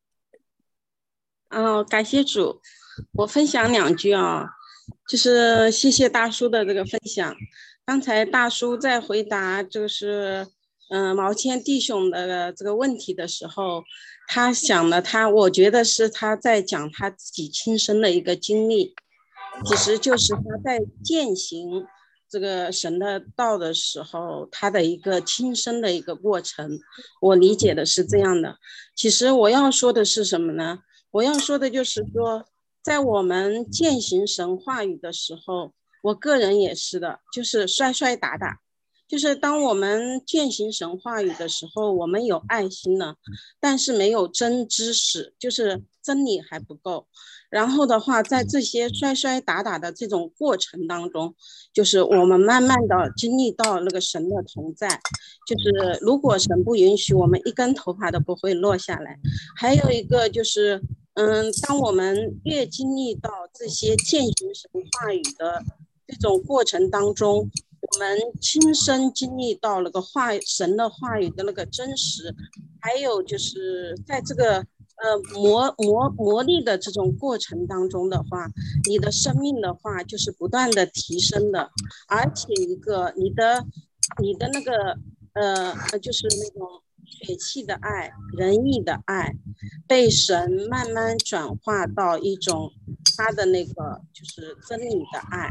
感谢主，我分享2句就是谢谢大叔的这个分享。刚才大叔在回答就是毛谦弟兄的这个问题的时候，他想了我觉得是他在讲他自己亲身的一个经历，其实就是他在践行这个神的道的时候，他的一个亲身的一个过程，我理解的是这样的。其实我要说的是什么呢？我要说的就是说，在我们践行神话语的时候，我个人也是的，就是摔摔打打， 就是当我们践行神话语的时候，我们有爱心了，但是没有真知识，就是真理还不够。然后的话，在这些摔摔打打的这种过程当中，就是我们慢慢的经历到那个神的同在，就是如果神不允许，我们一根头发都不会落下来。还有一个就是，当我们越经历到这些践行神话语的这种过程当中，我们亲身经历到那个神的话语的那个真实，还有就是在这个磨砺的这种过程当中的话，你的生命的话就是不断的提升的，而且一个你的那个就是那种血气的爱、仁义的爱，被神慢慢转化到一种他的那个就是真理的爱。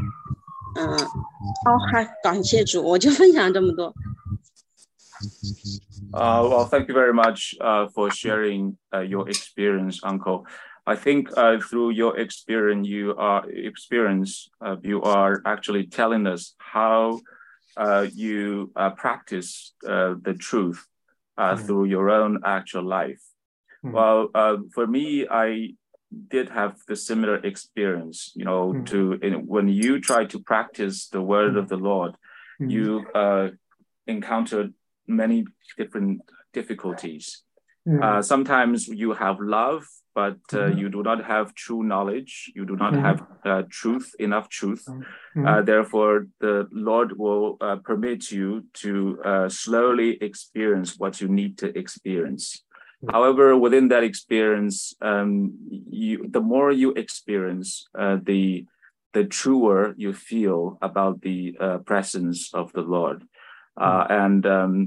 还感谢主，我就分享这么多。 Well, thank you very much for sharing your experience, Uncle. I think through your experience, you are actually telling us how you practice the truth through your own actual life. Well, for me, I did have the similar experience, when you try to practice the word of the Lord, you encountered many different difficulties. Sometimes you have love, but you do not have true knowledge. You do not have enough truth. Therefore, the Lord will permit you to slowly experience what you need to experience. However, within that experience, the more you experience, the truer you feel about the presence of the Lord. And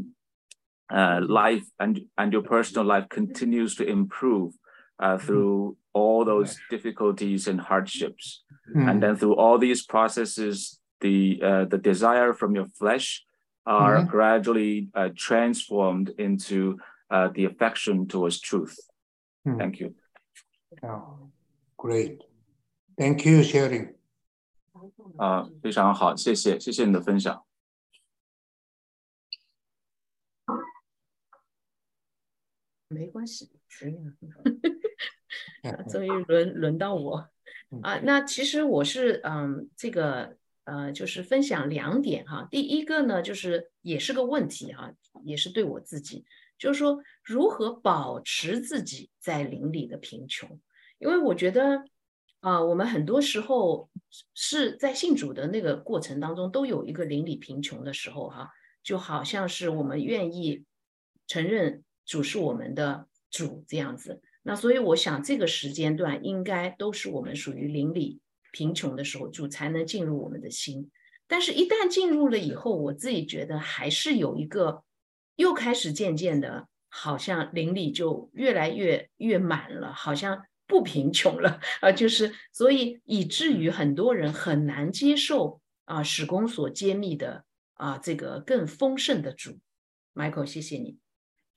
life and your personal life continues to improve through all those difficulties and hardships. And then through all these processes, the desire from your flesh are gradually transformed into the affection towards truth. Thank you. Oh, great. Thank you, sharing. 非常好，谢谢你的分享。 没关系，终于轮到我啊。那其实我是这个就是分享2点哈。第一个呢，就是也是个问题哈，也是对我自己，就是说如何保持自己在灵里的贫穷。因为我觉得我们很多时候是在信主的那个过程当中都有一个灵里贫穷的时候哈，就好像是我们愿意承认主是我们的主这样子。那所以我想这个时间段应该都是我们属于灵里贫穷的时候，主才能进入我们的心。但是一旦进入了以后，我自己觉得还是有一个又开始渐渐的好像灵里就越来越满了，好像不贫穷了就是所以以至于很多人很难接受使公所揭秘的这个更丰盛的主。 Michael， 谢谢你。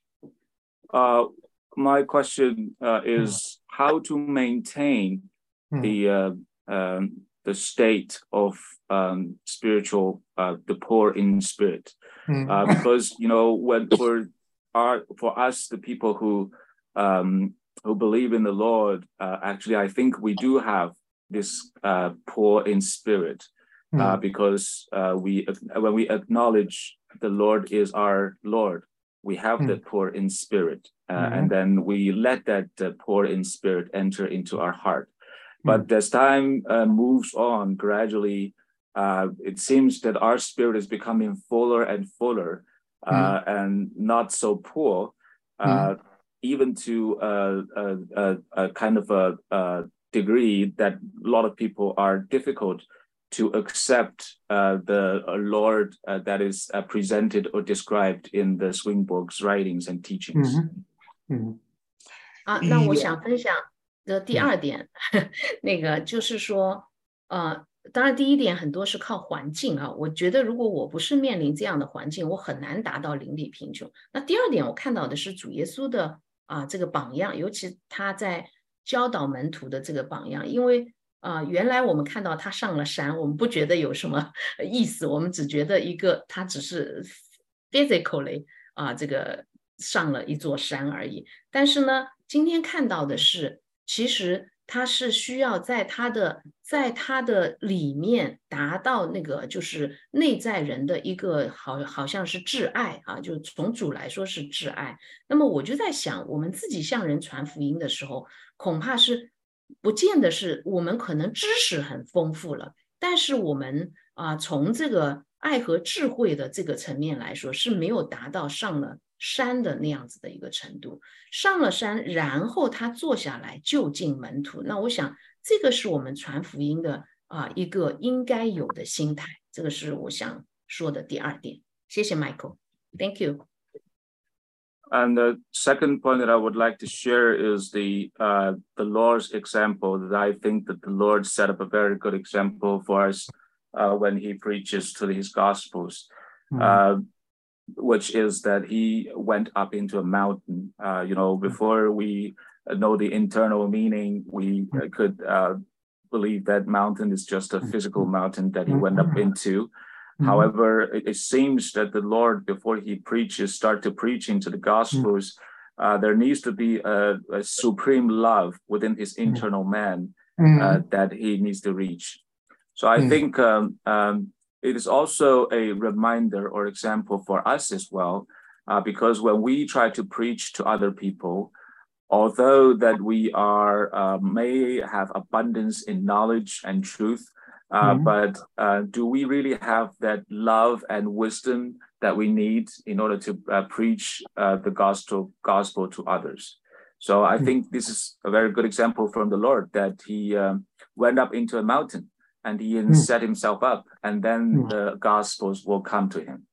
My question is how to maintain the state of spiritual, the poor in spirit, because when for us the people who believe in the Lord, actually I think we do have this poor in spirit, because when we acknowledge the Lord is our Lord, we have the poor in spirit, and then we let that poor in spirit enter into our heart. But as time moves on, gradually, it seems that our spirit is becoming fuller and fuller, and not so poor, even to a kind of a degree that a lot of people are difficult to accept the Lord that is presented or described in the Swinburne's writings and teachings. 那我想分享的第2点，那个就是说，当然第1点很多是靠环境我觉得如果我不是面临这样的环境，我很难达到灵里贫穷。那第2点我看到的是主耶稣的这个榜样，尤其他在教导门徒的这个榜样，因为原来我们看到他上了山，我们不觉得有什么意思，我们只觉得他只是 physically 这个上了一座山而已。但是呢，今天看到的是，其实他是需要在他的里面达到那个就是内在人的一个好像是挚爱就从主来说是挚爱。那么我就在想，我们自己向人传福音的时候，恐怕是不见得是我们可能知识很丰富了，但是我们从这个爱和智慧的这个层面来说，是没有达到上了山的那样子的一个程度。上了山，然后他坐下来就近门徒。那我想，这个是我们传福音的一个应该有的心态。这个是我想说的第二点。谢谢 Michael，Thank you。 And the second point that I would like to share is the Lord's example. That I think that the Lord set up a very good example for us when He preaches to His Gospels, which is that He went up into a mountain. Before we know the internal meaning, we could believe that mountain is just a physical mountain that He went up into. However, it seems that the Lord, before He starts to preach into the Gospels, there needs to be a supreme love within His internal man that He needs to reach. So I think it is also a reminder or example for us as well, because when we try to preach to other people, although that we may have abundance in knowledge and truth, but do we really have that love and wisdom that we need in order to preach the gospel to others? So I think this is a very good example from the Lord, that He went up into a mountain and He set Himself up, and then the gospels will come to Him.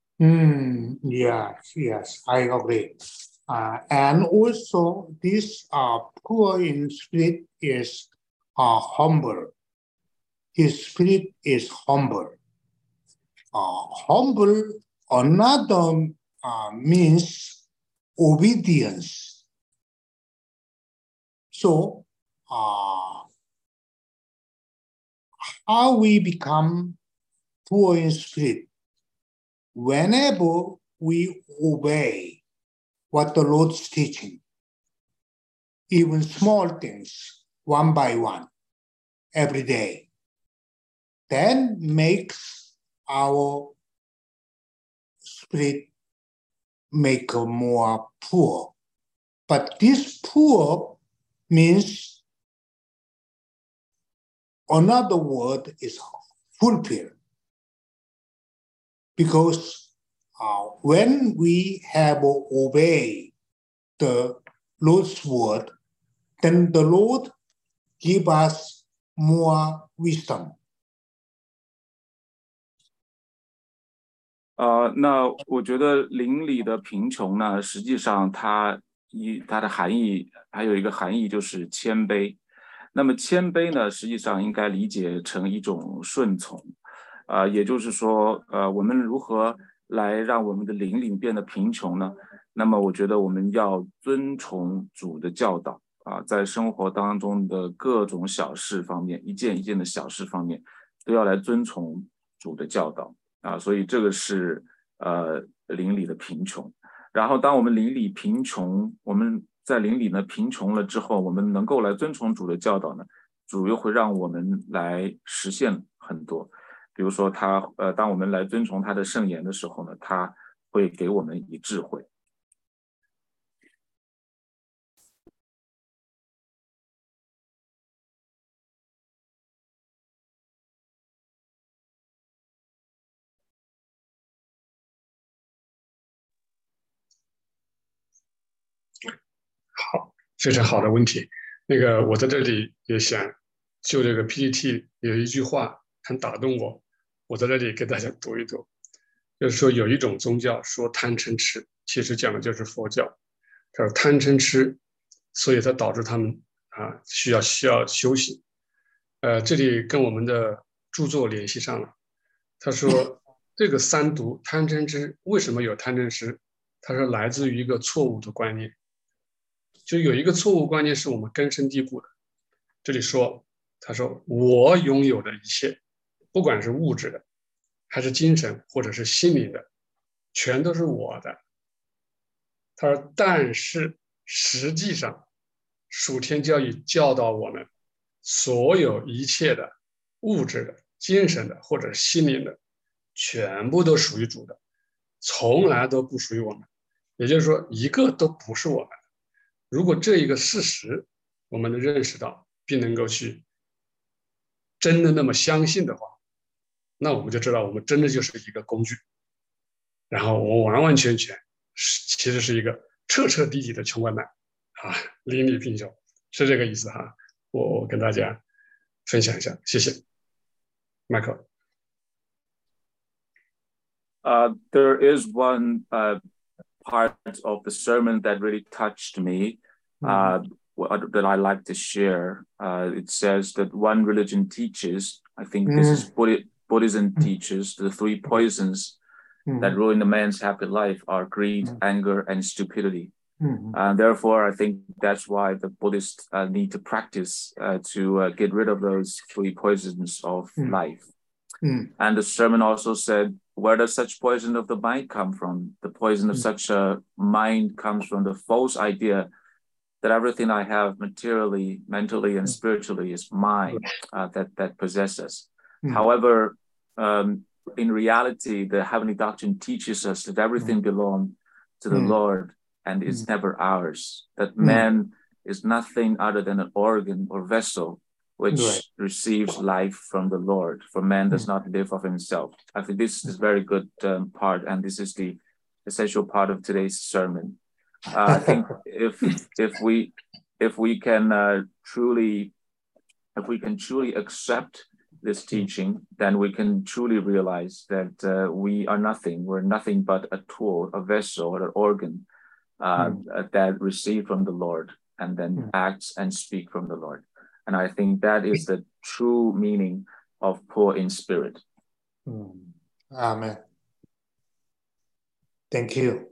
Yes, I agree. And also this poor in spirit is humble. His spirit is humble. Humble, another means obedience. So, how we become poor in spirit? Whenever we obey what the Lord's teaching, even small things, one by one, every day, then makes our spirit make more poor. But this poor means another word is fulfill. Because when we have obeyed the Lord's word, then the Lord give us more wisdom. 那我觉得灵里的贫穷呢，实际上它的含义还有一个含义就是谦卑。那么谦卑呢，实际上应该理解成一种顺从，也就是说，我们如何来让我们的灵里变得贫穷呢？那么我觉得我们要遵从主的教导在生活当中的各种小事方面，一件一件的小事方面，都要来遵从主的教导所以这个是灵里的贫穷。然后当我们灵里贫穷，我们在灵里呢贫穷了之后，我们能够来遵从主的教导呢，主又会让我们来实现很多。比如说当我们来遵从他的圣言的时候呢，他会给我们以智慧。 好，非常好的问题。我在这里也想就这个 PPT 有一句话很打动我，我在这里给大家读一读。就是说有一种宗教说贪嗔痴，其实讲的就是佛教。他说贪嗔痴，所以它导致他们需要修行。这里跟我们的著作联系上了。他说这个三毒贪嗔痴为什么有贪嗔痴？他说来自于一个错误的观念，就有一个错误观念是我们根深蒂固的。这里说他说我拥有的一切，不管是物质的，还是精神或者是心灵的，全都是我的。他说但是实际上属天教义教导我们，所有一切的物质的、精神的或者心灵的，全部都属于主的，从来都不属于我们。也就是说，一个都不是我们的。如果这一个事实我们能认识到，并能够去真的那么相信的话，那我们就知道我们真的就是一个工具，然后我完完全全其实是一个彻彻底底的穷光蛋啊，邻里贫穷，是这个意思哈。我跟大家分享一下，谢谢 Michael。 There is one part of the sermon that really touched me, that I like to share. It says that one religion teaches, I think this is Buddhism teaches, the three poisons that ruin a man's happy life are greed, anger, and stupidity. Therefore, I think that's why the Buddhists need to practice to get rid of those three poisons of life. And the sermon also said, where does such poison of the mind come from? The poison of such a mind comes from the false idea that everything I have materially, mentally, and spiritually is mine, that possesses. However, in reality, the heavenly doctrine teaches us that everything belongs to the Lord and is never ours, that man is nothing other than an organ or vessel which receives life from the Lord, for man does not live of himself. I think this is a very good part, and this is the essential part of today's sermon. I think if we can truly accept this teaching, then we can truly realize that we are nothing. We're nothing but a tool, a vessel, or an organ that receive from the Lord and then acts and speak from the Lord. And I think that is the true meaning of poor in spirit. Amen. Thank you.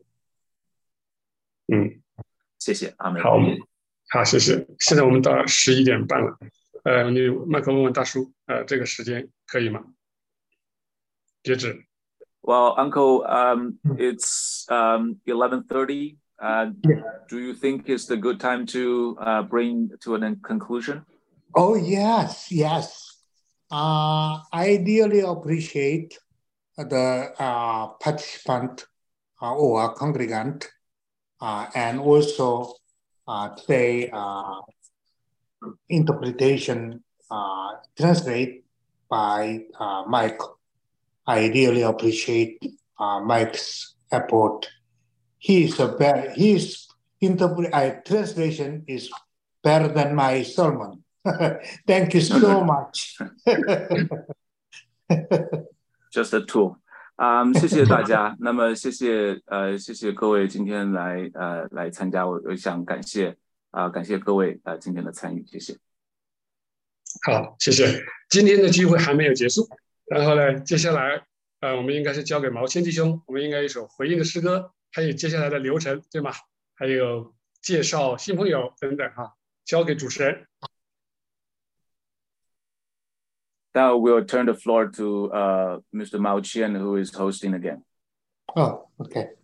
谢谢，阿门。 好，谢谢。现在我们到11点半了，你麦克问问大叔，这个时间可以吗？截止。 Well, Uncle, it's 11:30. Do you think it's the good time to bring to a conclusion? Oh, yes. I really appreciate the participant or congregant, and also today interpretation translate by Mike. I really appreciate Mike's effort. His translation is better than my sermon. Thank you so much. Just a tool. 谢谢大家。那么谢谢各位今天来参加，我想感谢各位今天的参与，谢谢。 好，谢谢。今天的聚会还没有结束，然后呢，接下来我们应该是交给毛谦弟兄，我们应该一首回应的诗歌，还有接下来的流程，对吗？还有介绍新朋友等等哈，交给主持人。 Now we'll turn the floor to Mr. Mao Qian, who is hosting again. Oh, okay.